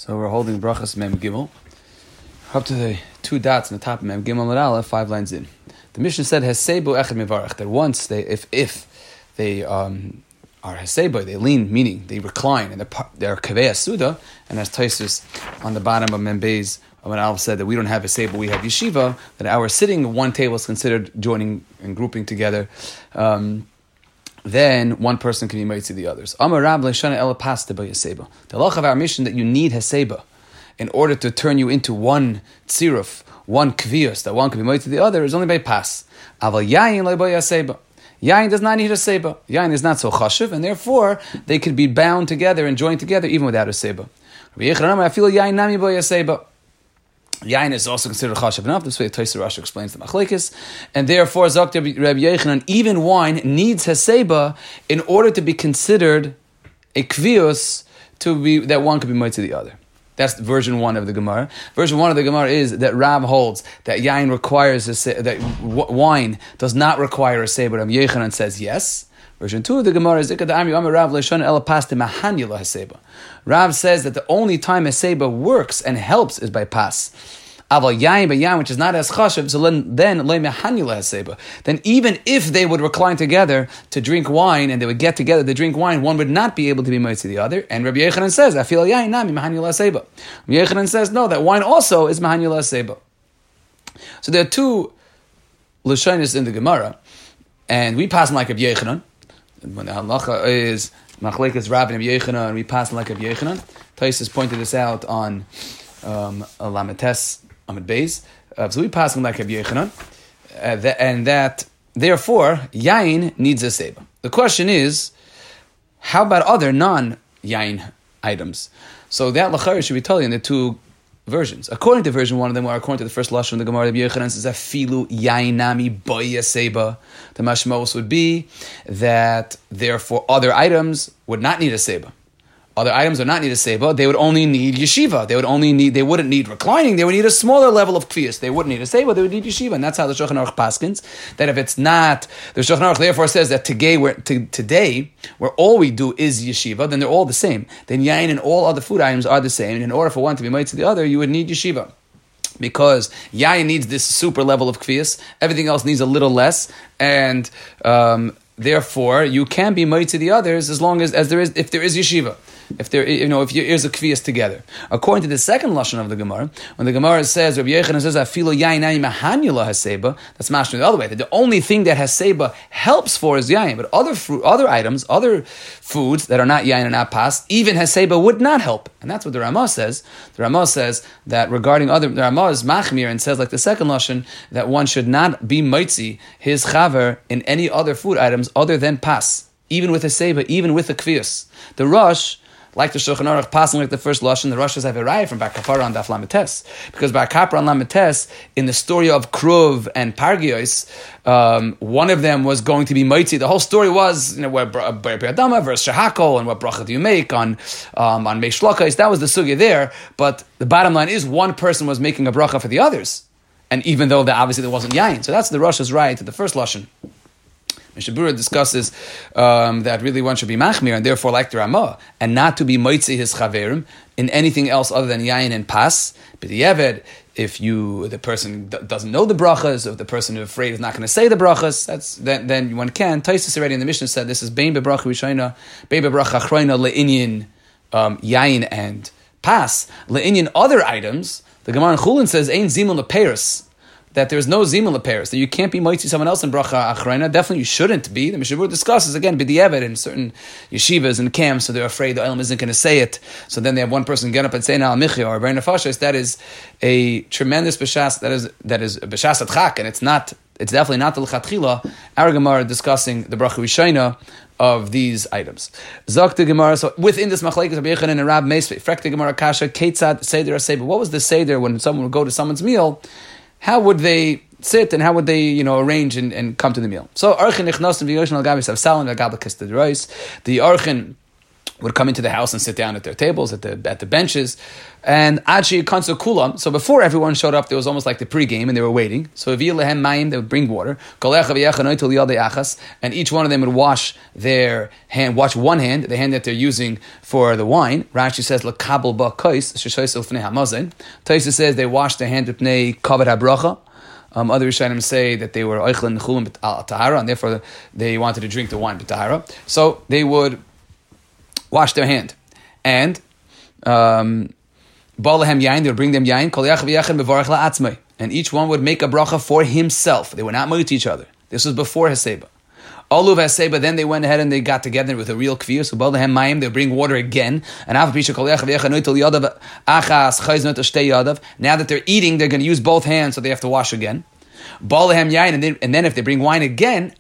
So we're holding brachas mem gimel up to the two dots on the top of mem gimel and aleph, 5 lines in. The Mishnah said hesebo echad mevarach, that once they, if they are hesebo, they lean, meaning they recline, and they're kaveh suda, and as Taisus on the bottom of mem beis when aleph said that we don't have hesebo, we have yeshiva, that our sitting at one table is considered joining and grouping together. Then one person can be married to the others. Amar Rab leishana ela pasta b'yaseba. The halach of our mission that you need heseba in order to turn you into one tziruf, one kvius, that one can be married to the other, is only by pas. Aval yayin le b'yaseba. Yayin does not need heseba. Yayin is not so chashiv, and therefore they could be bound together and joined together even without heseba. Rabbi Yechon Amar, I feel yayin nami b'yaseba. Yain is also considered chashav enough. This way, Tosfos Rashi explains the machlekes, and therefore, Zok Rabbi Yechanan, even wine needs heseba in order to be considered a kvius, to be that one could be made to the other. That's version 1 of the Gemara. Version 1 of the Gemara is that Rab holds that yain requires that wine does not require heseba. Rabbi Yechanan says yes. Version 2 of the Gemara is Rav says that the only time heseba works and helps is by pas. Aval yain, but yain, which is not as chashav, so then even if they would recline together to drink wine and they would get together to drink wine, one would not be able to be married to the other. And Rabbi Yechanan says, I feel yain nami mahanyul heseba. Rabbi Yechanan says, no, that wine also is mahanyul heseba. So there are two lashonos in the Gemara, and we pass them like Rabbi Yechanan. When the halacha is machlekes Rav and Rabbi Yechanan, and we pass like Rabbi Yechanan. Tosfos pointed this out on Lametes Amud Beis. So we pass like Rabbi Yechanan, and that therefore yain needs a seba. The question is, how about other non-yain items? So that lachari should be told in the two versions. According to version 1 of them, or according to the first lashon of the Gemara, Rabbi Yechanan says afilu yain nami b'yaseba. The mashmos would be that therefore other items would not need a seba. Other items would not need a seba. They would only need yeshiva. They wouldn't need reclining. They would need a smaller level of kfiyas. They wouldn't need a seba. They would need yeshiva. And that's how the Shulchan Aruch paskins. That if it's not, the Shulchan Aruch therefore says that today, where all we do is yeshiva, then they're all the same. Then yain and all other food items are the same. And in order for one to be made to the other, you would need yeshiva. Because yain needs this super level of kfiyas. Everything else needs a little less. And therefore, you can be made to the others as long as there is, if there is yeshiva. If there is a kviyas together. According to the second lashon of the Gemara, when the Gemara says, Rabbi Yechanan says, "Afilo yain nami mahanyula haseba," that's mashma the other way. That the only thing that haseba helps for is yain, but other items, other foods that are not yain and not pas, even haseba would not help. And that's what the Ramah says. The Ramah says that regarding the Ramah is machmir and says, like the second lashon, that one should not be mitzi his chaver in any other food items other than pas, even with haseba, even with the kviyas. The Rosh, like the Shulchan Aruch, passing like the first lashon, the Rosh have a raya from Bar Kapara on Daf Lametes, because Bar Kapara on Lametes, in the story of Kruv and Pargios, one of them was going to be mitzi. The whole story was, where Adama versus Shahakol, and what bracha do you make on Meish Lokais. That was the sugya there. But the bottom line is, one person was making a bracha for the others, and even though obviously there wasn't yain, so that's the Rosh's raya to the first lashon. Mishnah Berurah discusses that really one should be machmir, and therefore like the Ramah, and not to be moitzi his chaverim in anything else other than yayin and pas. But the Eved, if the person doesn't know the brachas, if the person is afraid is not going to say the brachas, then one can. Tosfos already in the Mishnah said this is bein bebracha rishayna, bein bebracha achrayna le'inyan yayin and pas, le'inyan other items. The Gemara in Chulin says ein zimun leperis, that there's no zimun leperis, that you can't be mitzi someone else in bracha achrayna. Definitely you shouldn't be. The Mishnah Berurah discusses again b'diavad in certain yeshivas and camps, so they're afraid the Olam isn't going to say it. So then they have one person get up and say Na'al Michya or Bein Nefashos. That is a tremendous b'shas. That is b'shas atchak, and it's definitely not the l'chatchila. Our Gemara discussing the bracha rishayna of these items. Zok the Gemara. So within this machlekes Rabbi Yechanan and Rab Meisvei, frek the Gemara kasha ketzad seder seder. What was the seder when someone would go to someone's meal? How would they sit and how would they, arrange and come to the meal? So, Archin Ichnosim V'Yoshin Al Gabi Savsalim Al Gabi Kistad Reis. The Archin would come into the house and sit down at their tables, at the benches, and Achi Kansu Kulam. So before everyone showed up, there was almost like the pregame, and they were waiting. So Avi Lehem Mayim, they would bring water, and each one of them would wash their hand, wash one hand, the hand that they're using for the wine. Rashi says Lakabel Ba Kais, Sheshois Ufnei Hamazin. Taisa says they washed their hand with Pnei Kavod HaBracha. Other Rishonim say that they were Oichlin Chulin Tahara, and therefore they wanted to drink the wine Tahara. So they would wash their hand. And Balahem Yain, they would bring them Yain, and each one would make a bracha for himself. They were not moit each other. This was before Haseba. Oluv Haseba, then they went ahead and they got together with a real kfir. So Balahem Mayim, they would bring water again. And now that they're eating, they're going to use both hands, so they have to wash again. Balahem Yain, and then if they bring wine again,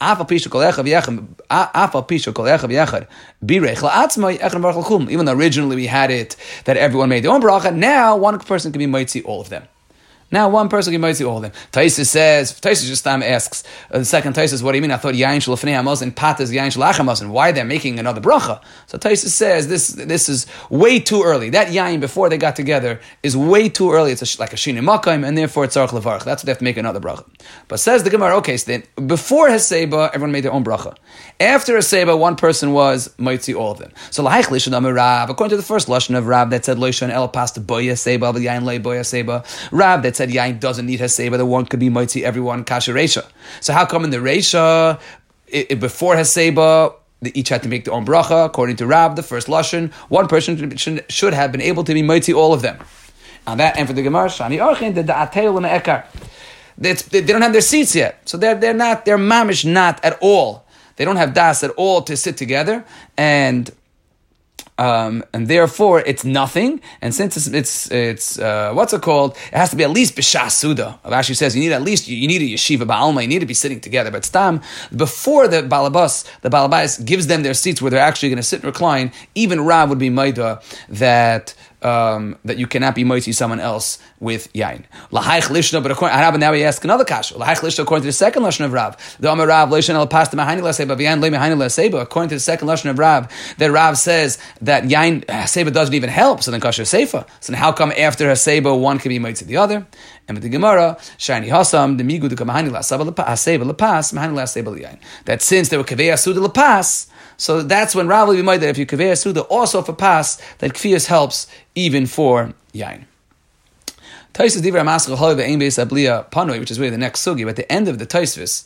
even though originally we had it that everyone made their own bracha, now one person can be mitzi all of them. Now one person can see all of them. Taisus just asks, the second Taisus, what do you mean? I thought Yain Shalafnei Hamaz and Pat is Yain Shalach and why they're making another bracha? So Taisus says this is way too early. That Yain before they got together is way too early. It's like a Shini Makayim, and therefore it's Tzarech Levarach. That's what they have to make another bracha. But says the Gemara, okay, so then before Haseba, everyone made their own bracha. After Haseba, one person was mitzi all of them. So Laich Lishon Amar Rav, according to the first lashon of Rav that said Loishon El Pasta Boya Seba, but Yain Lei Boya Seba. Rav that said Yain doesn't need Haseba, the one could be mitzi everyone Kasher Reisha. So how come in the Reisha, before Haseba, they each had to make their own bracha? According to Rav, the first lashon, one person should have been able to be mitzi all of them. And that, and for the Gemara, Shani Archin, the Da'ateil and Ekar. They don't have their seats yet, so they're mamish not at all. They don't have das at all to sit together, and therefore it's nothing. And since it's what's it called? It has to be at least b'shas suda. Rashi says you need a yeshiva ba'alma. You need to be sitting together. But stam before the balabas gives them their seats where they're actually going to sit and recline. Even Rav would be maida that you cannot be moitzi someone else with yain. Lahaich lishna, but according to Rav, now we ask another kasha. Lahaich lishna, according to the second lashon of Rav, the Amar Rav leishon el pasta mahani laseba v'yain le mahani laseba. According to the second lashon of Rav, that Rav says that yain haseba doesn't even help. So then kasha seifa. So then how come after haseba one can be moitzi the other? And with the Gemara, shani hasam the migu the mahani laseba haseba lepas mahani laseba yain. That since they were kavei asuda lepas, so that's when Rav will be made that if you kavei asuda also for pas, that kfiyas helps even for yain. Taisvis divrei maskal halav ve'ein beis abliya panoi, which is really the next sugi. But at the end of the Taisvis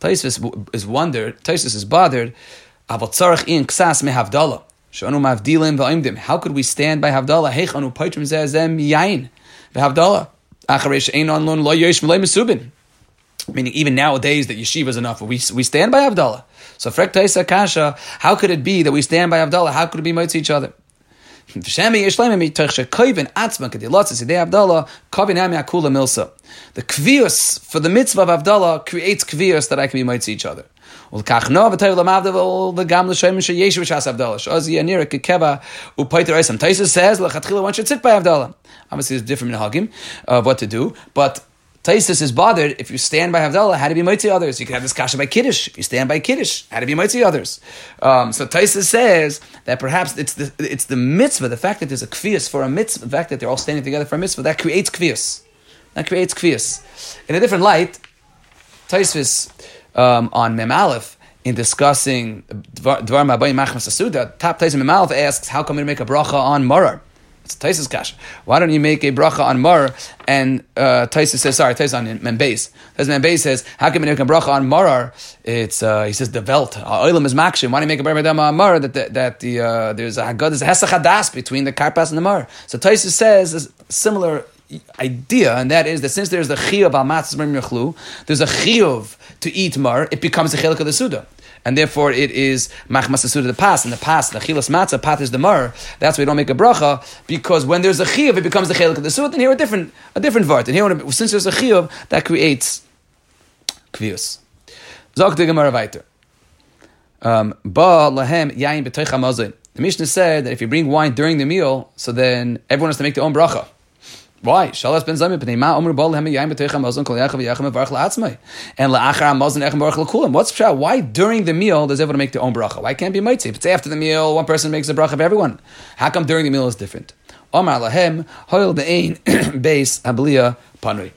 is bothered. Avot tzarich in ksas mehavdala shanu mavdilim va'imdim. How could we stand by havdala? Heich anu paitrim zeh yain vehavdala acharei she'ein onlon lo yesh v'lo mesubin. Meaning, even nowadays, that yeshiva is enough. We stand by havdala. So frek taisa kasha. How could it be that we stand by havdala? How could it be mitzi each other? The kvius for the mitzvah of Avdallah creates kvius that I can be mitzi each other. Taisa says one should sit by Avdallah. Obviously, there's different minhagim of what to do, but Taisus is bothered if you stand by Havdalah, how to be mitzi others. You can have this kasha by Kiddush. If you stand by Kiddush, how to be mitzi others. So Taisus says that perhaps it's the mitzvah, the fact that there's a kvius for a mitzvah, the fact that they're all standing together for a mitzvah, that creates kvius. In a different light, Taisus on Mem Aleph, in discussing Dvar Mabayim Machmas Asuda, top Taisus Mem Aleph asks, how come we make a bracha on Marar? It's Taisus kasha. Why don't you make a bracha on Marar? And Taisus on Membeis. Membeis says, how can we make a bracha on Marar? It's he says the velt. Oilam is makshim. Why don't you make a bracha on Marar? There's a hesach hadas between the karpas and the Marar. So Taisus says a similar idea, and that is that since there's the chiyuv al matzah b'rim yachlu, there's a chiyuv to eat Marar. It becomes a chelik of the suda. And therefore it is machmas asuda the pas. In the pas, the chilas matzah, pat is the mar. That's why we don't make a bracha, because when there's a chiyuv, it becomes the chelik of the suda. And here a different vart. And here, since there's a chiyuv, that creates kvius. Zog the Gemara weiter. Ba lahem yain b'toich hamazon. The Mishnah said that if you bring wine during the meal, so then everyone has to make their own bracha. Why? Shalas ben Zayim b'nei ma omer bol lehem yaim b'teicha mazon kol yachav yachem mevarach la'atzmai. And la'achar mazon echem mevarach l'kulam. What's pshat? Why during the meal does everyone make their own bracha? Why can't it be mitzi? If it's after the meal, one person makes a bracha of everyone. How come during the meal is different? Omar lahem hoil de'ein beis habliya panui.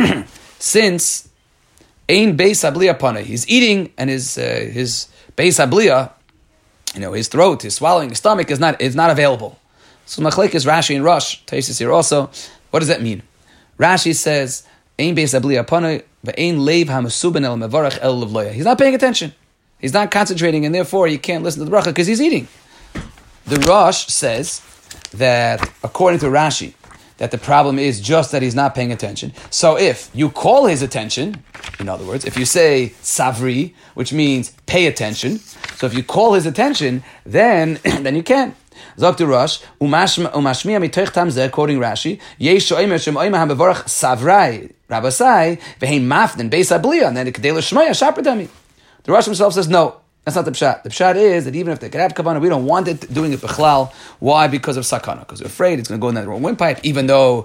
Since ein beis habliya panui, he's eating and his beis habliya, his throat, his swallowing, his stomach is not available. So machlekes Rashi and Rosh, Taisus here also. What does that mean? Rashi says, "Ein beis habliya panui, ve'ein leiv hamasuben el mevarach el levloya." He's not paying attention. He's not concentrating, and therefore he can't listen to the bracha because he's eating. The Rosh says that, according to Rashi, that the problem is just that he's not paying attention. So if you call his attention, in other words, if you say savri, which means pay attention, so if you call his attention, then you can. Zok Rosh, umashmiya mitoich tam zeh, quoting Rashi, yesh sho'imer shemo'ima hamevorach savrai, rabasai, vehein mafden beis habliya, and then the kedei l'shmoya shapradami. The Rosh himself says, no, that's not the pshat. The pshat is that even if they could have kavanah, we don't want it doing it b'chlal. Why? Because of sakana. Because we're afraid it's going to go in that wrong windpipe. Even though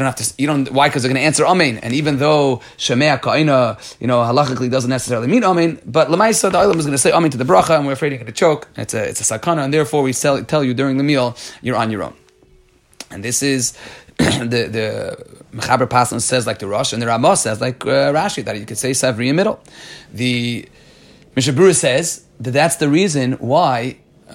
why? Because they're going to answer amen. And even though shemea ka'ina, halachically doesn't necessarily mean amen, but lemaisa the olam is going to say amen to the bracha, and we're afraid you're going to choke. It's a sakana, and therefore we tell you during the meal you're on your own. And this is the Mechaber Paslan says like the Rosh, and the Ramah says like Rashi that you could say savri in middle. The Mishnah Berurah says that that's the reason why,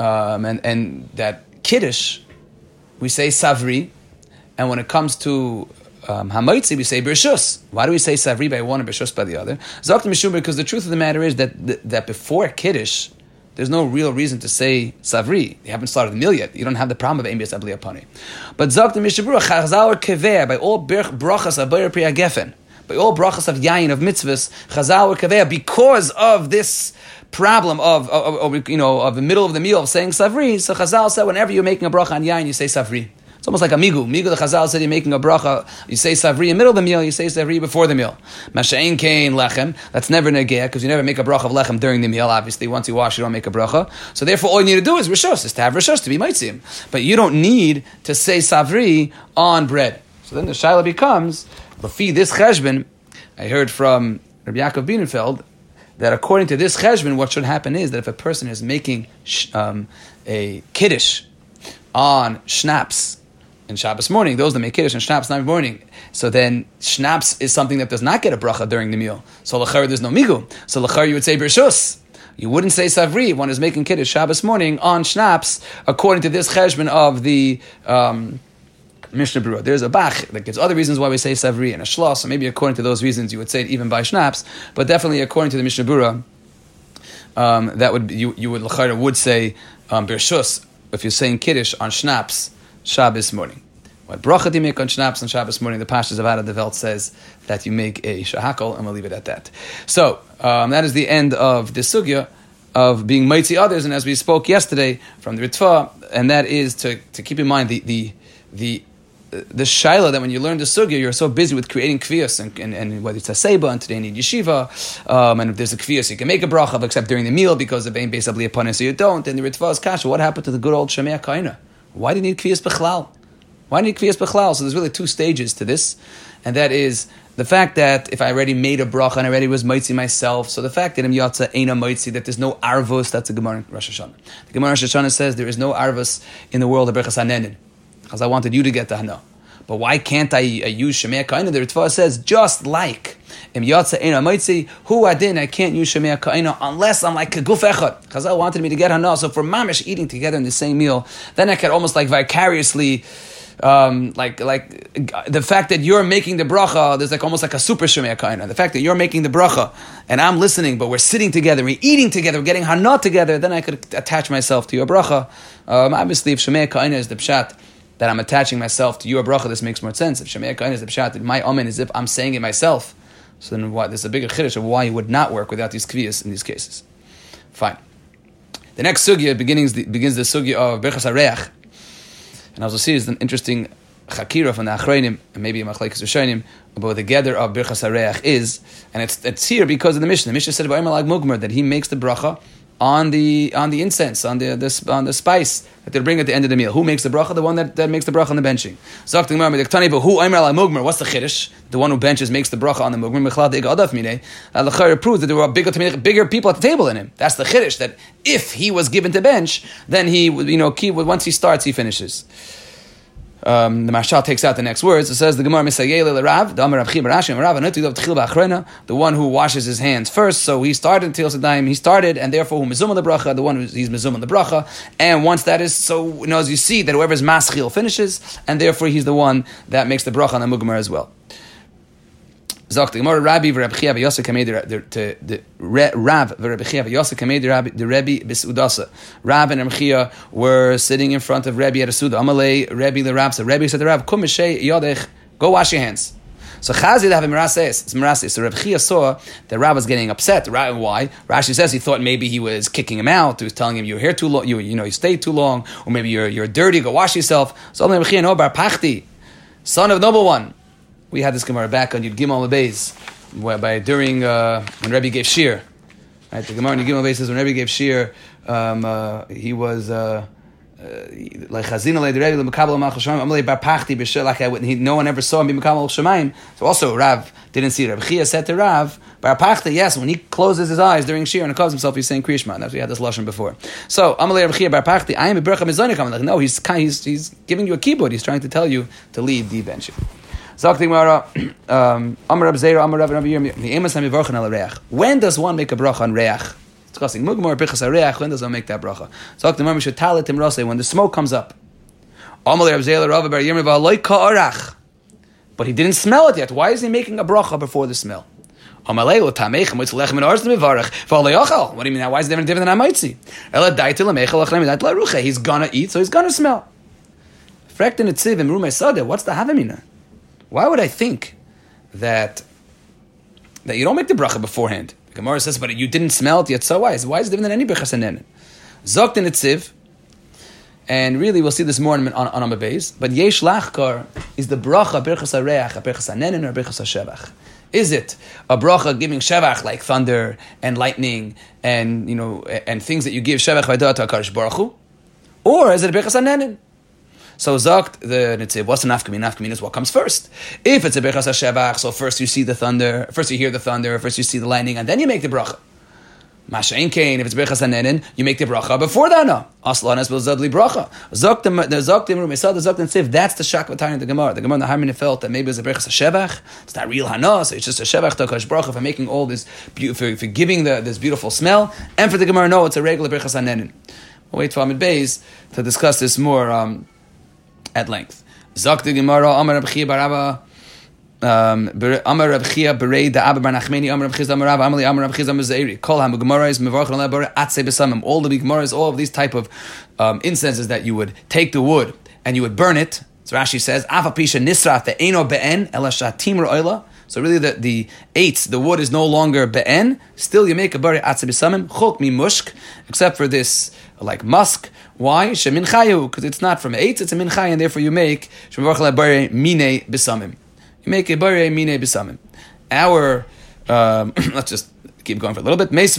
and that Kiddush, we say Savri, and when it comes to Hamaitzi, we say Bershus. Why do we say Savri by one and Bershus by the other? Zok Mishum, because the truth of the matter is that before Kiddush, there's no real reason to say Savri. You haven't started the meal yet. You don't have the problem of Ein Beis Habliya Panui. But Zok Mishnah Berurah, Chazal Keveh, by all brachas Abayir Pri Gefen, by all brachas of yayin, of mitzvahs, chazal or kaveya, because of this problem of the middle of the meal of saying savri. So chazal said, whenever you're making a bracha on yayin, you say savri. It's almost like a migu. Migu, the chazal said, you're making a bracha, you say savri in the middle of the meal, you say savri before the meal. Masha'in kain lechem, that's never negea, because you never make a bracha of lechem during the meal. Obviously, once you wash, you don't make a bracha. So therefore, all you need to do is rishos, is to have rishos, to be maitzim. But you don't need to say savri on bread. So then the shaila becomes, Lafi this cheshbon, I heard from Rabbi Yaakov Bienenfeld that according to this cheshbon, what should happen is that if a person is making a kiddush on schnapps in Shabbos morning, those that make kiddush on schnapps in the morning, so then schnapps is something that does not get a bracha during the meal. So l'char there's no migu. So l'char you would say bershus. You wouldn't say savri. One is making kiddush Shabbos morning on schnapps according to this cheshbon of the Mishnah Berurah. There's a Bach that gives other reasons why we say savri and a shlos, so maybe according to those reasons you would say it even by schnapps, but definitely according to the Mishnah Berurah, that would be, you would say bershus if you're saying kiddush on schnapps Shabbos morning. What bracha do you make on schnapps on Shabbos morning? The Pashas of Ada de Welt says that you make a shahakol, and we'll leave it at that. So that is the end of the sugya of being mitzi others, and as we spoke yesterday from the Ritva, and that is to keep in mind the shaila that when you learn the sugya, you're so busy with creating kviyas, and whether it's a seba, and today you need yeshiva, and if there's a kviyas, you can make a bracha, beexcept during the meal, because of Ein Beis Habliya Panui, so you don't, and the Ritva is kasha. What happened to the good old Shemea Kaina? Why do you need kviyas b'chlal? Why do you need kviyas b'chlal? So there's really two stages to this, and that is the fact that if I already made a bracha and I already was mitzi myself, so the fact that im yatsa eina mitzi, that there's no arvus, that's a Gemara in Rosh Hashanah. The Gemara in Rosh Hashanah says there is no arvus in the world of Berchas Hanenin, because I wanted you to get the Hana. But why can't I use Shemea Kaina? The Ritva says, just like im yatsa eina mitzi, hu adin, I can't use Shemea Kaina unless I'm like Guf Echad. Chazal wanted me to get Hana, so for mamish eating together in the same meal, then I could almost like vicariously like the fact that you're making the bracha, there's like almost like a super Shemea Kaina. The fact that you're making the bracha and I'm listening, but we're sitting together, we're eating together, we're getting Hana together, then I could attach myself to your bracha. Obviously, if Shemea Kaina is the pshat that I'm attaching myself to your bracha, this makes more sense. If Shemea Kaina is the pshat that my amen is if I'm saying it myself, so then what? There's a bigger chiddush of why it would not work without these kviyas in these cases. Fine. The next sugya begins the sugya of Berchas Hareach. And as we'll see, is an interesting chakira from the Achreinim, and maybe a Machlekes Rishonim, about what the gather of Birchas Hareach is. And it's here because of the Mishnah. The Mishnah said about Imer Lag Mugmer that he makes the bracha on the incense, on the spice that they bring at the end of the meal. Who makes the bracha? The one that makes the bracha on the benching. What's the chiddush? The one who benches makes the bracha on the mugmer. That proves that there were bigger people at the table than him. That's the chiddush, that if he was given to bench, then he would, once he starts, he finishes. The Mashal takes out the next words. It says the Gemara the one who washes his hands first. So he started until Sadaim. He started, and therefore who mizum the bracha, the one he's mizum the bracha. And once that is so, as you see that whoever's maschil finishes, and therefore he's the one that makes the bracha on the mugmer as well. Zok the Gemara Rabbi v'Rabbi Chia v'Yosef kamei the Rav v'Rabbi Chia v'Yosef kamei the Rebbe b'Sudasa. Rav and Rabbi Chia were sitting in front of Rebbe at a Suda. Amalei Rebbe the Rav. So Rebbe said to Rav, Kum mishay yodech, go wash your hands. So Chazid have a mirases. It's mirases. So Rabbi Chia saw that Rav was getting upset. Why? Rashi says he thought maybe he was kicking him out. He was telling him, "You're here too long. You stayed too long, or maybe you're dirty. Go wash yourself." So Rabbi Chia, no, Bar Pachti, son of noble one. We had this Gemara back on Yud Gimel Beis, whereby during when Rebbe gave shir, right? The Gemara on Yud Gimel Beis says when Rebbe gave shir, he was like Chazina le Rebbe le Mekabel Malchus Shemaim. Amalei Bar Pachti b'Shir, like no one ever saw him be Mekabel Malchus Shemaim. So also Rav didn't see it. Rabbi Chia said to Rav, Bar Pachti, yes, when he closes his eyes during shir and calls himself, he's saying Kriyishma. That's we had this lashon before. So Amalei Rabbi Chia Bar Pachti, I am a bercha mizonik. Like no, he's giving you a keyboard. He's trying to tell you to lead the bench. When does one make a bracha on reach? Discussing mugmor bichas reach. When does one make that bracha? When the smoke comes up. But he didn't smell it yet. Why is he making a bracha before the smell? What do you mean? Why is it different than Hamaitzi? He's gonna eat, so he's gonna smell. What's the havamina? Why would I think that you don't make the bracha beforehand? The Gemara says, but you didn't smell it yet, so why? Why is it different than any brachas hanenin? Zokt in Tziv, and really we'll see this more on Amud Beis, but Yesh Lachkar is the bracha brachas hareach, a brachas hanenin, or brachas hashevach. Is it a bracha giving shevach like thunder and lightning and and things that you give shevach v'adat HaKadosh Baruch Hu, or is it a brachas hanenin? So Zokt the Nitziv, what's the nafkamin? Nafkamin is what comes first. If it's a brachas hashevach, so first you see the thunder, first you hear the thunder, first you see the lightning, and then you make the bracha. Masha'in kain, if it's brachas hanenin, you make the bracha before that. No, aslan es b'zadli bracha. Zoktim rumesad zoktim tziv. That's the shak v'tayin of the Gemara. The Gemara in the Harmony felt that maybe it's a brachas hashevach. It's not real hanos. It's just a shevach to HaKadosh Baruch Hu for making all this for giving this beautiful smell. And for the Gemara, no, it's a regular brachas hanenin. We'll wait for Amud Beis to discuss this more at length. Zok the Gemara Amar Rabbi Chia Baraba. Amar Rabbi Chia Berei da Abba Bar Nachmeni Amar Rabbi Chia Amar Amali Amar Rabbi Chia Zairi. Kol HaGemara is Mevarch Alei Bar Atzei B'Samim. All the Gemaras, all of these type of incenses that you would take the wood and you would burn it. So Rashi says Afa Pisha Nisraf Ve'eno Be'en Ela Shatim Ro'ela. So really the eights, the wood is no longer be'en. Still you make a bari atzei b'samim chok mi mushk, except for this like musk. Why? Shemin chayu, because it's not from eights, it's a min chay, and therefore you make shemevarch la bari mine b'samim. You make a bari mine b'samim. Our let's just keep going for a little bit. The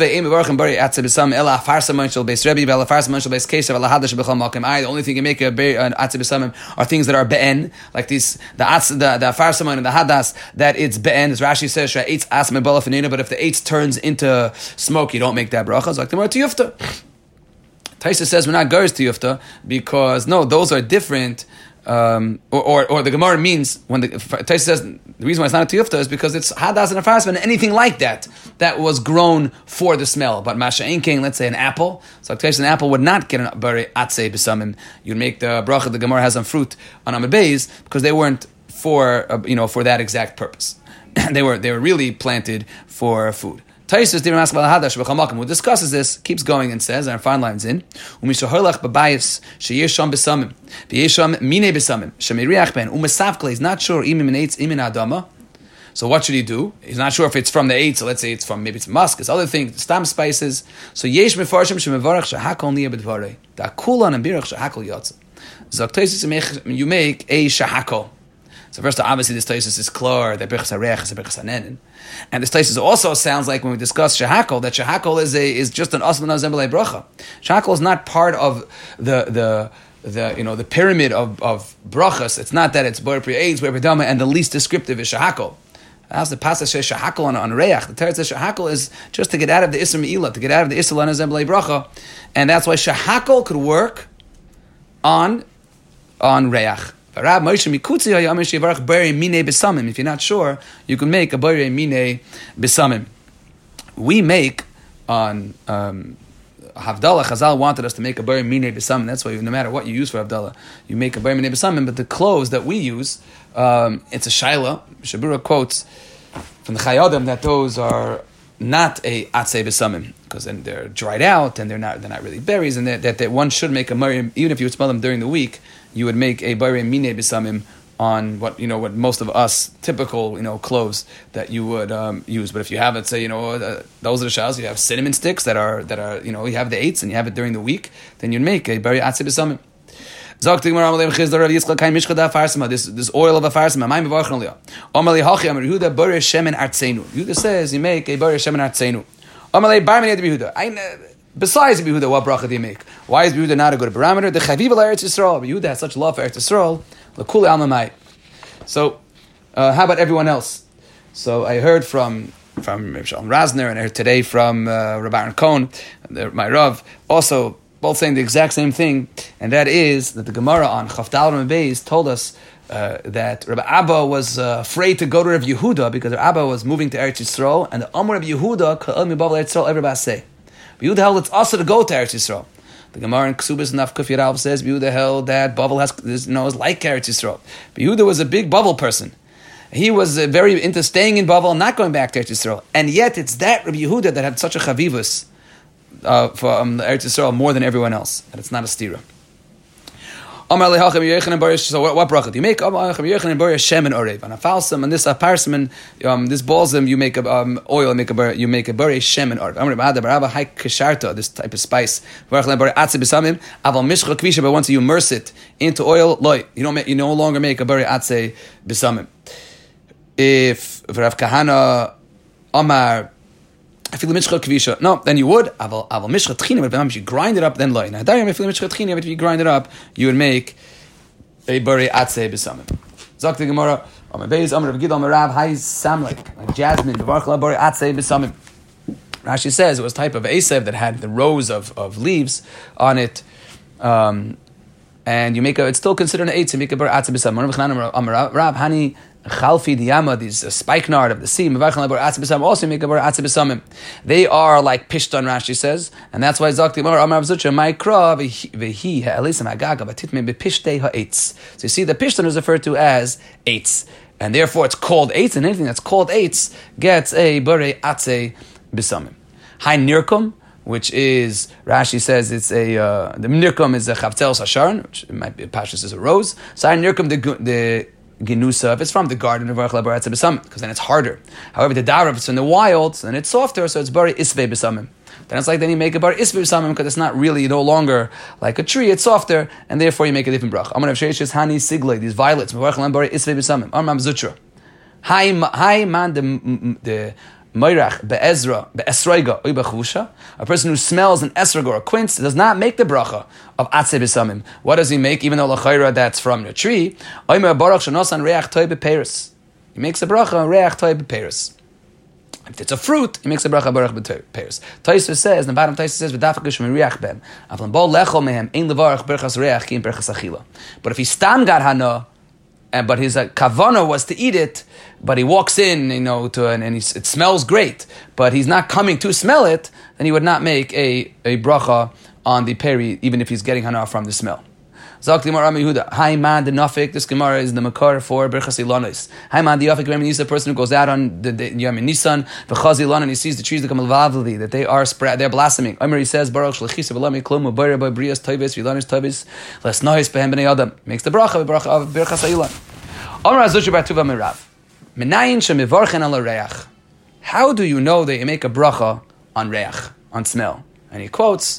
only thing you make an atzei b'samim are things that are be'en, like these the farsaman and the hadas, that it's be'en. As Rashi says, but if the eitz turns into smoke, you don't make that bracha. It's like the Tiyufta. Taisa says we're not goers to Yufta because no, those are different. Or the Gemara means when the Taisa says the reason why it's not a tiyufta is because it's hadas and a farasman and anything like that was grown for the smell. But masha'in king, let's say an apple. So Taisa, an apple would not get an bari atzei b'samim. You'd make the bracha the Gemara has on fruit on Amud Beis because they weren't for for that exact purpose. they were really planted for food. Taisus Dirim Asbal Hadash B'Chamakim, who discusses this, keeps going and says, and our fine lines in, Umishaholach B'Bayis Sheyesham B'Samim V'Yesham Mine B'Samim Shemiriach Ben Umesavkle. He's not sure Imin Eitz Imin Adama. So what should he do? He's not sure if it's from the eitz. So let's say it's from maybe it's musk, it's other things, stam spices. So Yesh Mefarshim Shemevarach Shahakol Niya B'Dvarei Da'Kulan and Birach Shahakol Yotze. Zok Taisus, you make a shahakol. So first, obviously, this Taisus is clear that Birchas HaReach is a Birchas HaNenin. And this Taisus also sounds like when we discuss Shehakol, that Shehakol is just an Aslan Azembelei Bracha. Shehakol is not part of the pyramid of brachas. It's not that it's Boyer Pri Eitz, Boyer Pri Dama, and the least descriptive is Shehakol. As the passage says Shehakol on Reach, the Teretz says Shehakol is just to get out of the Isser Me'ilah, to get out of the Isser Azembelei Bracha. And that's why Shehakol could work on Reach. If you're not sure, you can make a Bari Mine Besamim. We make on Havdalah, Chazal wanted us to make a Bari Mine Besamim. That's why no matter what you use for Havdalah, you make a Bari Mine Besamim. But the clothes that we use, it's a Shaila. Shabura quotes from the Chayadim that those are not a Atzei Besamim, because then they're dried out and they're not really berries, and that one should make a Bari, even if you would smell them during the week, you would make a Bari Mine Besamim on what most of us typical clothes that you would use. But if you have, let's say those are the shals, you have cinnamon sticks that are you have the eights and you have it during the week, then you'd make a Bari Atzei Besamim. This oil of a farsima. Yehuda says you make a Bari Shemen Artzeinu. Besides Yehuda, what bracha do you make? Why is Yehuda not a good parameter? The Chaviv Eretz Yisrael. Yehuda has such love for Eretz Yisrael. L'kuli almamai. So, how about everyone else? So I heard from Shalom Razner, and I heard today from Rabbi Aaron Cohen, my Rav, also both saying the exact same thing, and that is that the Gemara on Chavdal Ram Beis told us that Rabbi Abba was afraid to go to Rav Yehuda because Rabbi Abba was moving to Eretz Yisrael, and the Amr of Yehuda Ka'al Mibav Eretz Yisrael everybody say. Yehuda held it's also to go to Eretz Yisrael. The Gemara in Ksubis Naf Kuf Yirav says Yehuda held that Bavel is like Eretz Yisrael. But Yehuda was a big Bavel person. He was very into staying in Bavel and not going back to Eretz Yisrael. And yet it's that Rabbi Yehuda that had such a chavivus for Eretz Yisrael more than everyone else. And it's not a stira. So what bracha do you make? On a falsum, and this parsimon, this balsam, you make oil, you make a bari shemen orev. This type of spice. But once you immerse it into oil, you no longer make a bari atze b'samim. If Rav Kahana Amar, no, then you would. But if you grind it up, then loy. Now, if you grind it up, you would make a bari atze b'samim. Zok the Gemara, like jasmine, bari atze b'samim. Rashi says it was type of asev that had the rows of leaves on it, and you make it's still considered an eitz. You make a bari atze b'samim. Rav Hani Chalfi diyama, these spikenard of the sea, also make a bar atze b'samim. They are like pishtan, Rashi says, and that's why Zakti Amar Amar Avzucha Maikra v'hi ha'elisam ha'gaga v'titme b'pishtei ha'etz. So you see, the pishtan is referred to as eitz, and therefore it's called eitz, and anything that's called eitz gets a bar atze b'samim. Hai nirkum, which is, Rashi says it's the nirkum is a chavtzel sasharon, which it might be pashas is a rose. So hai nirkum the Genusa, if it's from the garden of Baruch Labaratza B'samim, because then it's harder. However, the Dara, if it's in the wild, then it's softer, so it's Bari Isvei B'samim. Then it's like then you make a Bari Isvei B'samim, because it's not really no longer like a tree, it's softer, and therefore you make a different brach. I'm going to have Hani Sigle, these violets, Baruch Labaratza Isvei B'samim. Amram Zutra. Hi man, the Moirach be'ezra be'esroiga oy b'chusha, a person who smells an esrog or a quince does not make the bracha of atzei b'samim. What does he make? Even though l'chayra that's from the tree, oymer baruch shenosan reach toy b'peiros. He makes a bracha reach toy b'peiros. If it's a fruit, he makes a bracha baruch b'peiros. Taisva says, the bottom Taisva says, v'dafakish m'riach bem. Avlan bo lechol mehem ein levarach berchas reach ki in berchas achila. But if he stam got hana, but his kavana was to eat it, but he walks in, and it smells great, but he's not coming to smell it, then he would not make a bracha on the peri, even if he's getting hana from the smell. This Gemara is the makar for berchas ilanos. Haiman the yafik remini is the person who goes out on the Yom Nisan v'chaz ilan and he sees the trees that come lavli, that they are spread, they're blossoming. Omer he says baruch shlechis v'lami klum u'bayre by brias tovis v'ilanos tovis les nois behem b'nei adam, makes the bracha of berchas ilan. Omer azush b'atuva mirav menayin shemivarchen al reach. How do you know that you make a bracha on reach, on smell? And he quotes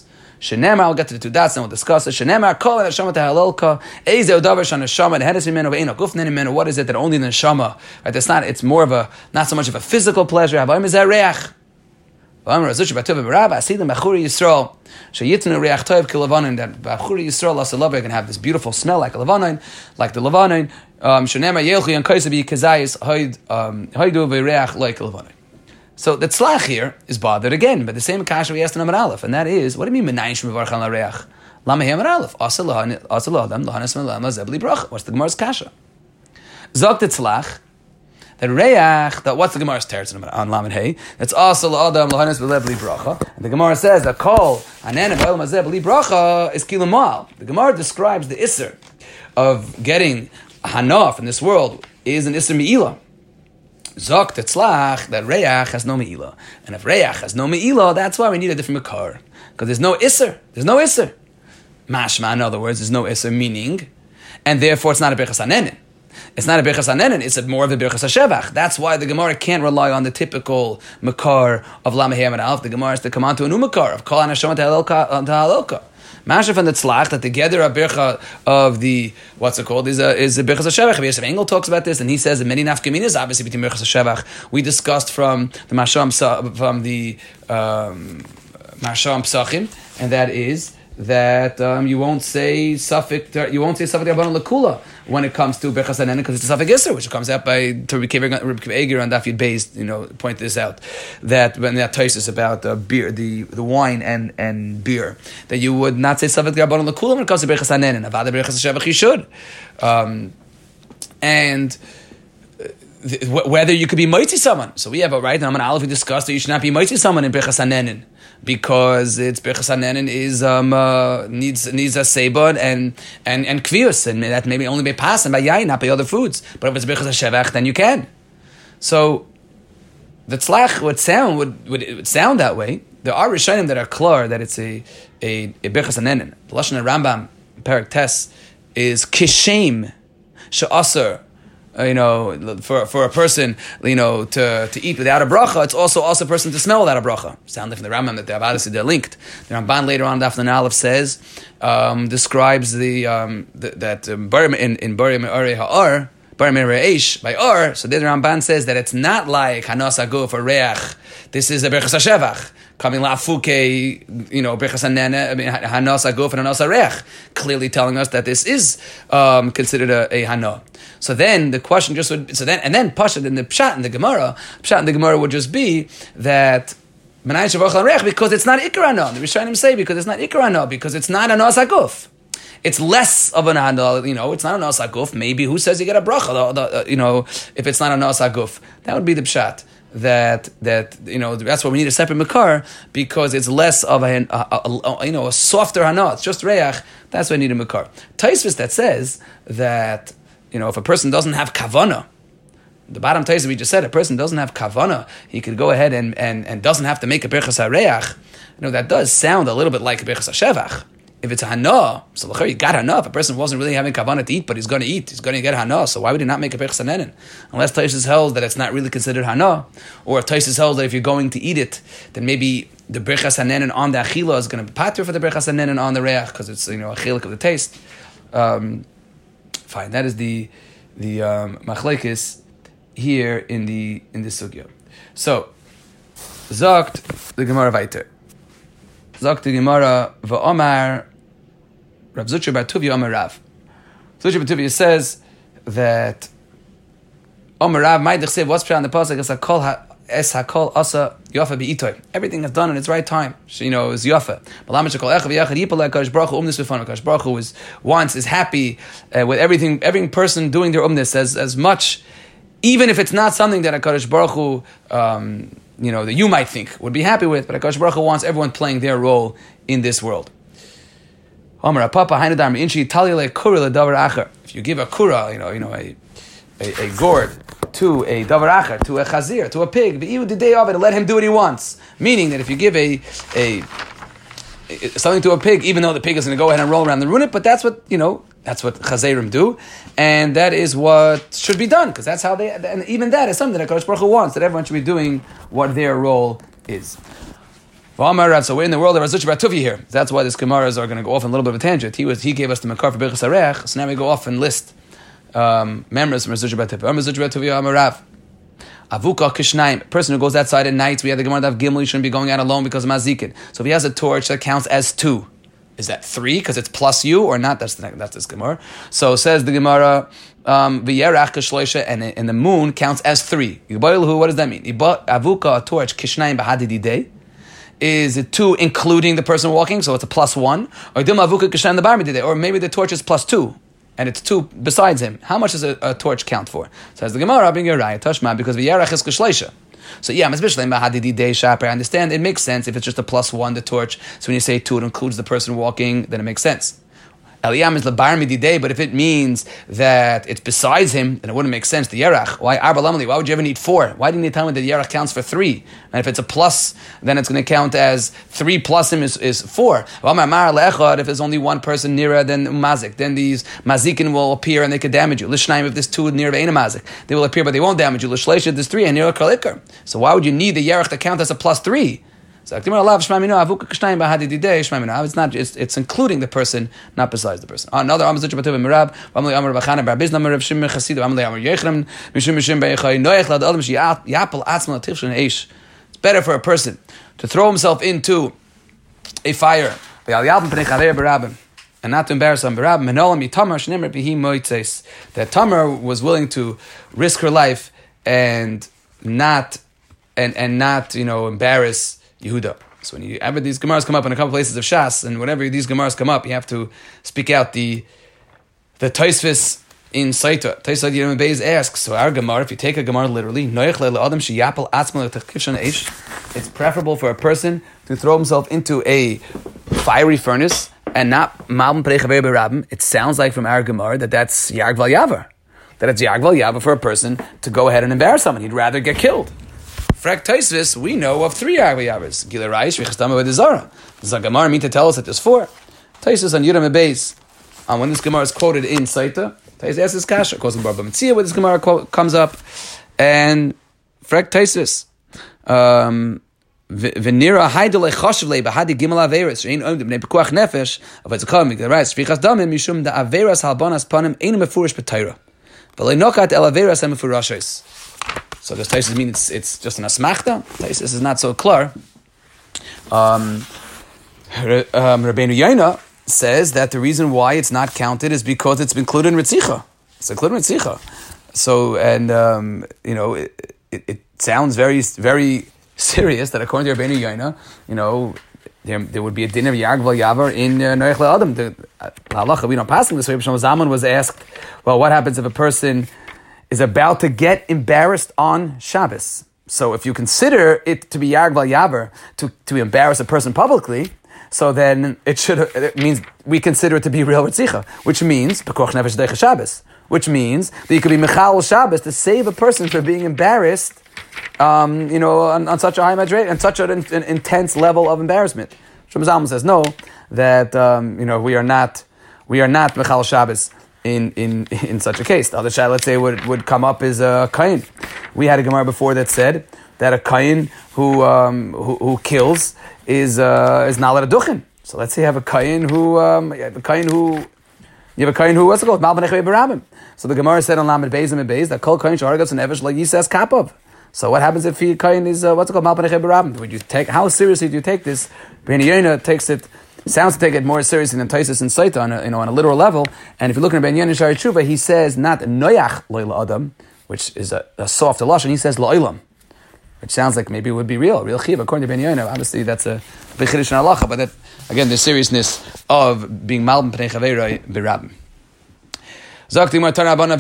Shenemar, I'll get to the two dots and we'll discuss it. Shenemar, kol neshama tehalelka, eizeh davar shaneshama dehenes mimenu ve'eino gufnen mimenu. What is it that only the neshama? Right? It's more of a, not so much of a physical pleasure. Havayim is reach. V'amar azush b'tov b'rab asidim b'churi Yisrael sheyitnu reach tov kilavanin. That b'churi Yisrael lasalavah can have this beautiful smell like a lavanin, like the lavanin. Shenemar yelchi and kaisabi kazayis haidu v'reach like a lavanin. So the tzlach here is bothered again, but the same kasha we asked in Amar Aleph, and that is, what do you mean menayin shmevarch al hareach? Lama he Amar Aleph? Asal adam lahanas melama zebli bracha. What's the Gemara's kasha? Zok the tzlach that reach. That what's the Gemara's teretz on Lamed Hey? That's asal adam lahanas zebli bracha. And the Gemara says that kol anen v'el mazebli bracha is kilamal. The Gemara describes the isser of getting hanaf in this world is an isser me'ilah. Zok tetzlach that reach has no me'ilah, and if reach has no me'ilah, that's why we need a different makar, because there's no isser. There's no isser. Mashma, in other words, there's no isser meaning, and therefore it's not a birchas hanenin. It's not a birchas hanenin. It's more of a birchas hashevach. That's why the Gemara can't rely on the typical makar of lamehei and alf. The Gemara has to come on to a new makar of kol anashama tehalelka. Mashaf and the tzlach, that together a bircha of the, what's it called, is a birchas hashevach. Yosef Engel talks about this, and he says that many nafkaminas, obviously between birchas hashevach, we discussed from the Masham Psachim, and that is that you won't say suffix rabbanon lekula when it comes to birchas hanenin, because it's a suffix iser, which comes out by Rabbi Eger on Daf Yud Beis, point this out, that when that Tosfos about beer, the wine and beer, that you would not say suffix rabbanon lekula when it comes to birchas hanenin. Avada birchas hashevach you should, and whether you could be moitzi someone. So we have a right, and Amar Aleph we discussed that you should not be moitzi someone in birchas hanenin, because it's birchas hanenin is needs a seibon and kvius, and that maybe only by pas and by yain, not by other foods. But if it's birchas hashevach, then you can. So the tzlach would sound that way. There are rishonim that are clear that it's a birchas hanenin. The lashon Rambam Perek Tes is kishem she'aser. For a person, to eat without a bracha, it's also a person to smell without a bracha. Sound from the Rambam that obviously they're linked. The Ramban later on, Daf Nun Aleph says, describes that in Bari Me'arei Ha'ar, Bari Me'arei Eish, by Ar, so there the Ramban says that it's not like Hanas Aguf or Reach. This is a Birchas HaShevach. Coming la'afuke, birchas hanena, hanos aguf and hanos arech, clearly telling us that this is considered a hana. So then the question just would, then pashat in the pshat in the Gemara would just be that menai shavach arech, because it's not ikar hana. The Rishonim say because it's not ikar hana, because it's not hanos aguf. It's less of an hana, it's not a hanos aguf. Maybe who says you get a bracha? If it's not a hanos aguf, that would be the pshat. That's why we need a separate makar, because it's less of a softer hana. It's just reach. That's why we need a makar. Tosfos that says that if a person doesn't have kavana, the bottom Tosfos we just said, a person doesn't have kavana, he could go ahead and doesn't have to make a birchas hareach. That does sound a little bit like a birchas hashevach. If it's a hana, so you got hana. If a person wasn't really having kavanah to eat, but he's going to eat, he's going to get hana. So why would he not make a birchas hanenin? Unless Tosfos held that it's not really considered hana, or if Tosfos held that if you're going to eat it, then maybe the birchas hanenin on the achila is going to be pater for the birchas hanenin on the reach, because it's a chilik of the taste. Fine, that is the machlekes here in this sugya. So zokt the Gemara weiter. Zokt the Gemara v'omar Rav Zucher bar Tuvia Omar Rav. Zucher bar Tuvia says that Omar Rav Maidich said what's put on the pasuk es hakol asa yafa beitoy. Everything is done in its right time. Is yafa. Kadosh Baruch Hu is happy with everything. Every person doing their umnis as much, even if it's not something that Kadosh Baruch Hu that you might think would be happy with, but HaKadosh Baruch Hu wants everyone playing their role in this world. If you give a kura, a gourd to a davar acher, to a chazir, to a pig, let him do what he wants. Meaning that if you give something to a pig, even though the pig is going to go ahead and roll around and ruin it, but that's what chazirim do, and that is what should be done, because that's how and even that is something that HaKadosh Baruch Hu wants, that everyone should be doing what their role is. So we're in the world of Razuch Bar Tuvi here. That's why these Gemaras are going to go off on a little bit of a tangent. He gave us the Makar for Birchas Harech, so now we go off and list members from Razuch Bar Tuvi. Razuch Bar Tuvi Amarav. Avuka Kishnaim, a person who goes outside at night. We have the Gemara of Gimel, you shouldn't be going out alone because of Mazikin. So if he has a torch, that counts as 2. Is that 3 because it's plus you or not? That's this Gemara. So says the Gemara, V'yerach Kishloisha, and the moon counts as 3. What does that mean? Avuka, a torch, Kishnaim Bahadididei. Is it 2 including the person walking, so it's a plus 1? Or maybe the torch is plus 2, and it's 2 besides him. How much does a torch count for? Says the Gemara, because v'yarach is k'shleisha. So yeah, I understand it makes sense if it's just a plus 1, the torch. So when you say 2, it includes the person walking, then it makes sense. Eliyam is lebar mididei, but if it means that it's besides him, then it wouldn't make sense. The yerach, why arba lamali? Why would you ever need 4? Why didn't you tell me that the yerach counts for 3? And if it's a plus, then it's going to count as 3 plus him is 4. If there's only one person nearer than mazik, then these mazikin will appear and they could damage you. Lishnaim, if there's 2 near ve'ena mazik, they will appear but they won't damage you. Lishleisha, there's 3 and near kalikar. So why would you need the yerach to count as a plus 3? So it's not. It's including the person, not besides the person. Another it's better for a person to throw himself into a fire and not to embarrass him. That Tamar was willing to risk her life and not embarrass Yehuda. So whenever these Gemaras come up in a couple places of Shas, and whenever these Gemaras come up, you have to speak out the Tosfos in Saita. Tosfos Yirmiyah Beis asks, so our Gemara, if you take a Gemara literally, it's preferable for a person to throw himself into a fiery furnace and not Malbim Pnei Chaver B'Rabim. It sounds like from our Gemara that's Yarg Val Yavar. That it's Yarg Val Yavar for a person to go ahead and embarrass someone. He'd rather get killed. Frak Tosfos, we know of 3 Yarg Val Yavars. Gila Raish, Vichastama V'Dezara. Does the Gemara mean to tell us that there's 4? Tosfos on Yirmiyah Beis, when this Gemara is quoted in Saita, Tosfos asks this kasha, goes in Bar B'Metzia where this Gemara comes up, and Frak Tosfos, V'nira haidolei choshev bahadi gimel averis shein oim b'nei pekuach nefesh avatzakam v'garais shvichas damim mishum da averas halbanas panim ein mefurish b'Torah v'lei nokat el averas hamefurashos. So does Tosfos mean it's just an asmachta? Tosfos is not so clear. Rabbeinu Yaina says that the reason why it's not counted is because it's included in Ritzicha. It's included in Ritzicha. So, and it sounds very, very serious that according to Rabbeinu Yaina, there would be a din of Yarg Val Yavar in Noach LeAdam. The halacha, we don't pass in this way. Shlomo Zalman was asked, well, what happens if a person is about to get embarrassed on Shabbos? So if you consider it to be Yarg Val Yavar, to embarrass a person publicly, so then it means we consider it to be real Ritzicha, which means Pekuach Nefesh Deicha Shabbos, which means that you could be Mechal Shabbos to save a person from being embarrassed, on such a high madrei and such an intense level of embarrassment. Shlomo Zalman says no, that we are not Mechal Shabbos in such a case. The other shayla, let's say, would come up is a kain. We had a Gemara before that said that a kain who kills is not allowed to duchen. So let's say you have a kain who what's it called? Malbim Pnei Chaver B'Rabim. So the Gemara said on Lamed Beis and Beis that kol kain shargas and evesh like Yisas Kapov. So what happens if he kain is what's it called Malbim Pnei Chaver B'Rabim? Would you how seriously do you take this? Rabbeinu Yaina sounds to take it more seriously than Tosfos and Saita on a literal level. And if you look at Rabbeinu Yaina Shari Tshuva, he says not noyach lo'il adam, which is a soft lashon. He says lo'ilam, which sounds like maybe it would be real chiv. According to Rabbeinu Yaina, obviously that's a big chiddush in halacha, but that again the seriousness of being Malbim Pnei Chaver B'Rabim. They brought in front of him a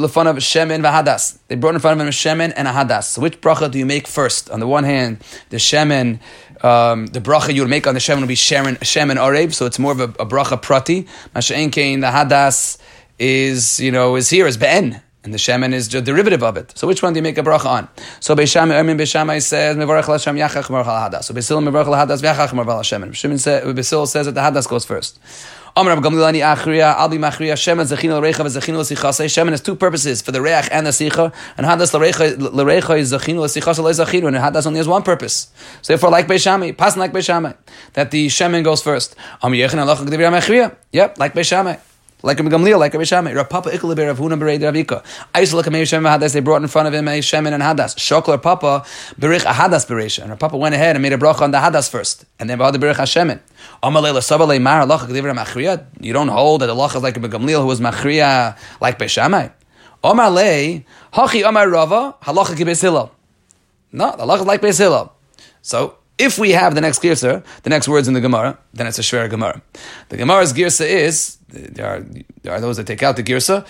shemen and a hadas. So which bracha do you make first? On the one hand, the shemen, the bracha you would make on the shemen would be shemen arev, so it's more of a bracha prati. Masha'en kein, the hadas is here as be'en. And the shemen is a derivative of it. So which one do you make a bracha on? So Beis Shammai says, Mevarach l'Hashem yachach mevarach al hadas. So Beis Hillel mevarach al hadas v'yachach mevarach al shemen. Beis Hillel says that the hadas goes first. Amar Rav Gamliel ani achriya, al bi machriya, shemen zechina l'reicha v'zechina l'sichasei. Shemen has two purposes, for the reach and the sicha. And hadas l'reicha is zechina l'sichasei l'zechina. And hadas only has one purpose. So therefore, like Beis Shammai, pass like Beis Shammai, that the shemen goes first. Amar yechin alacha g'divir machriya. Yep, like Beis Shammai. Like Rabbi Gamliel, like Rabbi Shammai. Rav Papa Ikle Rav Huna Berei Ravika. Aisel Kamei Shemen Hadas. They brought in front of him a Shemen and Hadas. Shokler Papa Berich a Hadas Bereisha. And Rav Papa went ahead and made a bracha on the Hadas first, and then brought the Berich HaShemen. Amalei Sabalei Mar Halacha G'divra Machriya. You don't hold that the halacha is like Rabbi Gamliel, who was Machriya like Beis Shammai. Amalei Hachi Amar Rava Halacha Beis Hillel. No, the halacha is like Beis Hillel. So if we have the next girsa, the next words in the Gemara, then it's a shver Gemara. The Gemara's girsa is, there are those that take out the girsa,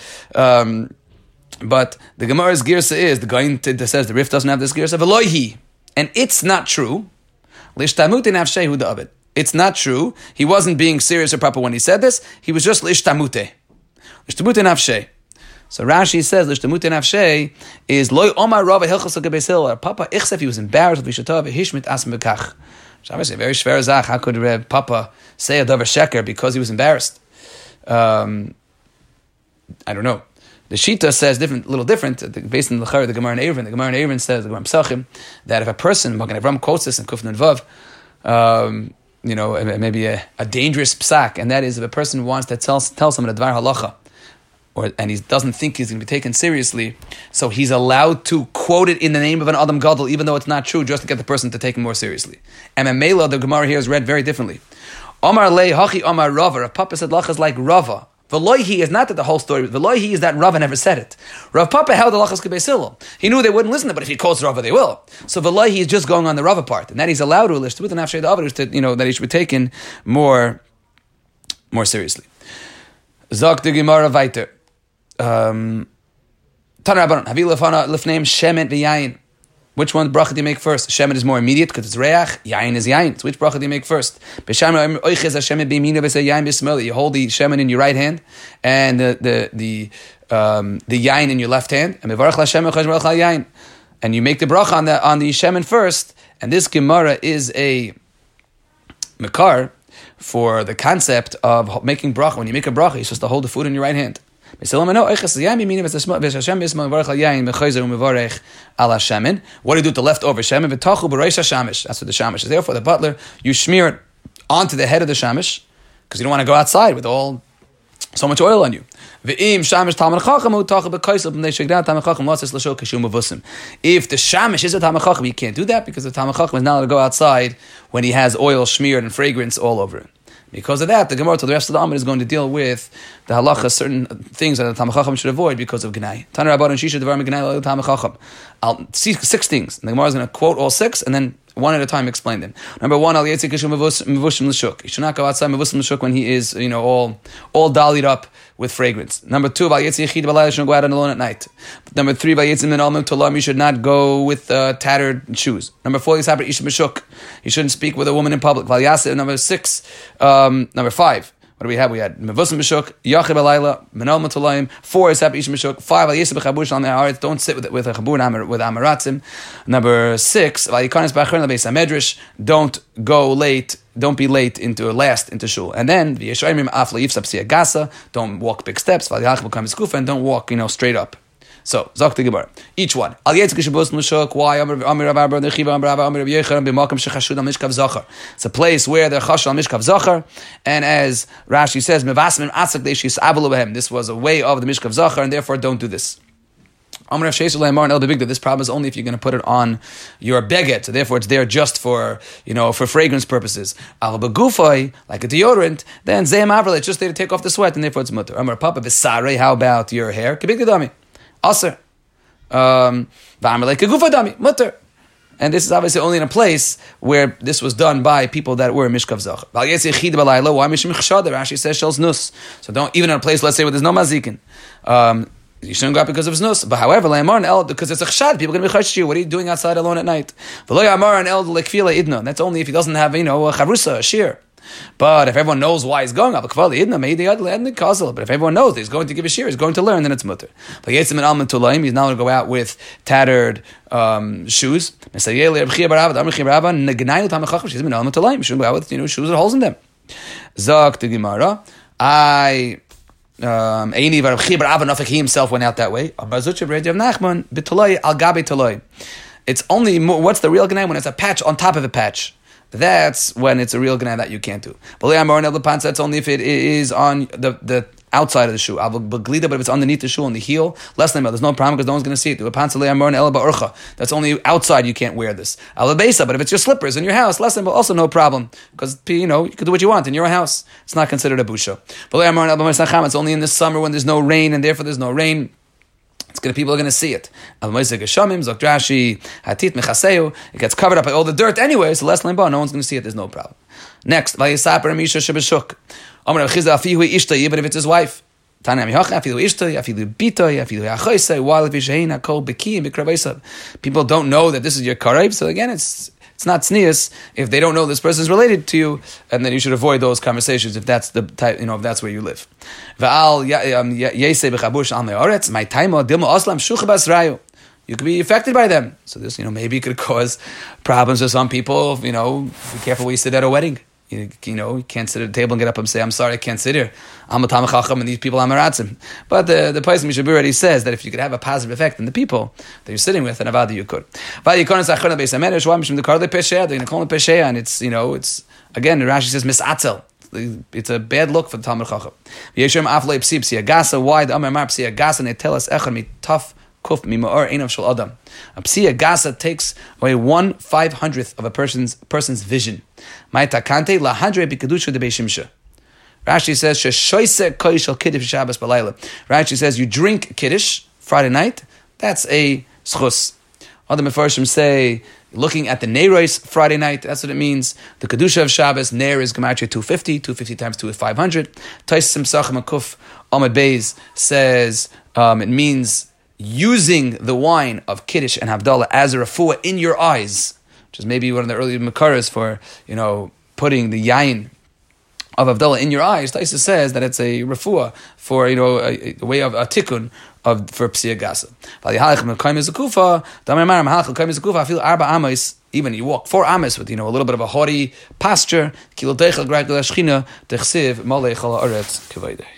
but the Gemara's girsa is, the guy that says the Rif doesn't have this girsa, v'loihi, and it's not true. L'ishtamute nafshehu da'abed. It's not true. He wasn't being serious or proper when he said this. He was just l'ishtamute. L'ishtamute nafsheh. So Rashi says, "L'shtamute nafshei is loy omar rava hilchos l'gebeis Hillel." Papa ichsef, he was embarrassed with Vishatav hishmit asm bekach. So obviously very shver zach. How could Papa say a davar sheker because he was embarrassed? I don't know. The Shita says little different, based on the Gemara and Erevin. The Gemara and Erevin says, the Gemara Pesachim, that if a person, Magen Avraham quotes this in Kuf Nun Vav, maybe a dangerous psak, and that is if a person wants to tell someone a dvar halacha, and he doesn't think he's going to be taken seriously, so he's allowed to quote it in the name of an Adam Gadol, even though it's not true, just to get the person to take him more seriously. And Mela, the Gemara here is read very differently. Omar lei hachi Omar Rava. Rav Papa said lachas like Rava. V'loihi is not that the whole story. V'loihi is that Rava never said it. Rav Papa held the lachas k'beis Hillel. He knew they wouldn't listen to it, but if he quotes Rava, they will. So v'loihi is just going on the Rava part, and that he's allowed to lish with an afshay da'avar, that he should be taken more seriously. Zok the Gemara weiter. Tana Rabbanon, Havi lefana lefneim shemet v'yayin. Which one bracha do you make first? Shemet is more immediate because it's reach. Yayin is yayin. So which bracha do you make first? You hold the shemet in your right hand and the yayin in your left hand. And you make the bracha on the shemet first. And this Gemara is a makar for the concept of making bracha. When you make a bracha, you're supposed to hold the food in your right hand. What do you do with the leftover shemen? That's what the shamish is there for. The butler, you smear it onto the head of the shamish because you don't want to go outside with so much oil on you. If the shamish is a Talmid Chacham, you can't do that because the Talmid Chacham is not allowed to go outside when he has oil smeared and fragrance all over it. Because of that, the Gemara to the rest of the Amud is going to deal with the halacha, certain things that the Talmid Chacham should avoid because of Gnai. Tana Rabbanon Shisha Devar Gnai Talmid Chacham. I'll see 6 things. And the Gemara is going to quote all 6 and then one at a time explain them. Number 1, Al Yetzik Kishu Mevushim L'Shuk. He should not go outside Mevushim L'Shuk when he is, all dollied up with fragrance. Number 2, Al Yetzik Yechid B'Layla shouldn't go out alone at night. Number 3, Al Yetzik Min Almim Tolam. You should not go with tattered shoes. Number 4, Yisabra Ish Meshuk. You shouldn't speak with a woman in public. Val Yaseh. Number 5. What do we have? We had Mevusim Meshuk, Yachid B'Layla, Menal Matolayim. 4 is Happy Ish Meshuk. 5 Al Yisab B'Chabur Shalom Haaretz. Don't sit with a Chabur with Amaratzim. Number 6 Val Yikanis B'Achron L'Beis HaMedrash. Don't go late. Don't be late into shul. And then V'Yeshayimim Afla Yifsab Siyagasa. Don't walk big steps. Val Yachid B'Kam Yiskufa. And don't walk straight up. So, Zok the Gemara. Each one. Al Yetzik Shabos L'Shuk. Why? It's a place where they're Chashal Mishkav Zachar. And as Rashi says, this was a way of the Mishkav Zachar, and therefore don't do this. This problem is only if you're going to put it on your beget, so therefore it's there just for fragrance purposes. Like a deodorant, then it's just there to take off the sweat, and therefore it's mutter. How about your hair? Aser. Mutter. And this is obviously only in a place where this was done by people that were Mishkav Zach. Rashi says Shels Nus. So don't, even in a place, let's say, where there's no mazikin. You shouldn't go out because of Znus. But however, because it's a chshad, people are going to be chashish you. What are you doing outside alone at night? That's only if he doesn't have, a charusa, a shear. But if everyone knows why he's going, but if everyone knows that he's going to give a shir, he's going to learn, then it's mutter. But he's now going to go out with tattered shoes. She shouldn't go out with shoes with holes in them. Zok the Gemara. He himself went out that way. It's only what's the real Ganai when it's a patch on top of a patch. That's when it's a real Ganai that you can't do. That's only if it is on the outside of the shoe. But if it's underneath the shoe on the heel, less than there's no problem because no one's going to see it. That's only outside you can't wear this. But if it's your slippers in your house, less than also no problem because you can do what you want in your house. It's not considered a busha. It's only in the summer when there's no rain and therefore there's no rain. People are going to see it. It gets covered up by all the dirt anyway, so less than no one's going to see it. There's no problem. Next, even if it's his wife. People don't know that this is your karev, so again, it's not tznius if they don't know this person is related to you, and then you should avoid those conversations if that's the type, if that's where you live. You could be affected by them. So this, maybe it could cause problems for some people. Be careful where you sit at a wedding. You can't sit at a table and get up and say, I'm sorry, I can't sit here. I'm a Talmid Chacham and these people I'm a Ratzim. But the Pais Mishabur already says that if you could have a positive effect in the people that you're sitting with, then Avada you could. They're going to call it Pesheya, and it's again, Rashi says, Misatzel. It's a bad look for the Talmid Chacham. Why the Amar Mar Psia Gasa, and they tell us, Echad mi tough kuf mi ma'or einav shel adam. A Psia Gasa takes away 1/500th of a person's vision. Ma'etakante lahadre b'kedusha de beishimsha. Rashi says, "Sheshoise koishel kiddush Shabbos b'layla." Rashi says, you drink kiddush Friday night. That's a schus. Other mefarshim say, looking at the Neiros Friday night, that's what it means. The kedusha of Shabbos, Neir is gematria 250 times 2 is 500. Taisim Sachem Akuf Ahmed Beis says it means using the wine of Kiddush and Havdalah as a refuah in your eyes, which is maybe one of the early makaras for, putting the yain of Havdalah in your eyes. Taisa says that it's a refuah for, a way of a tikkun for Psia Gasa. Even you walk 4 amas with, a little bit of a haughty posture.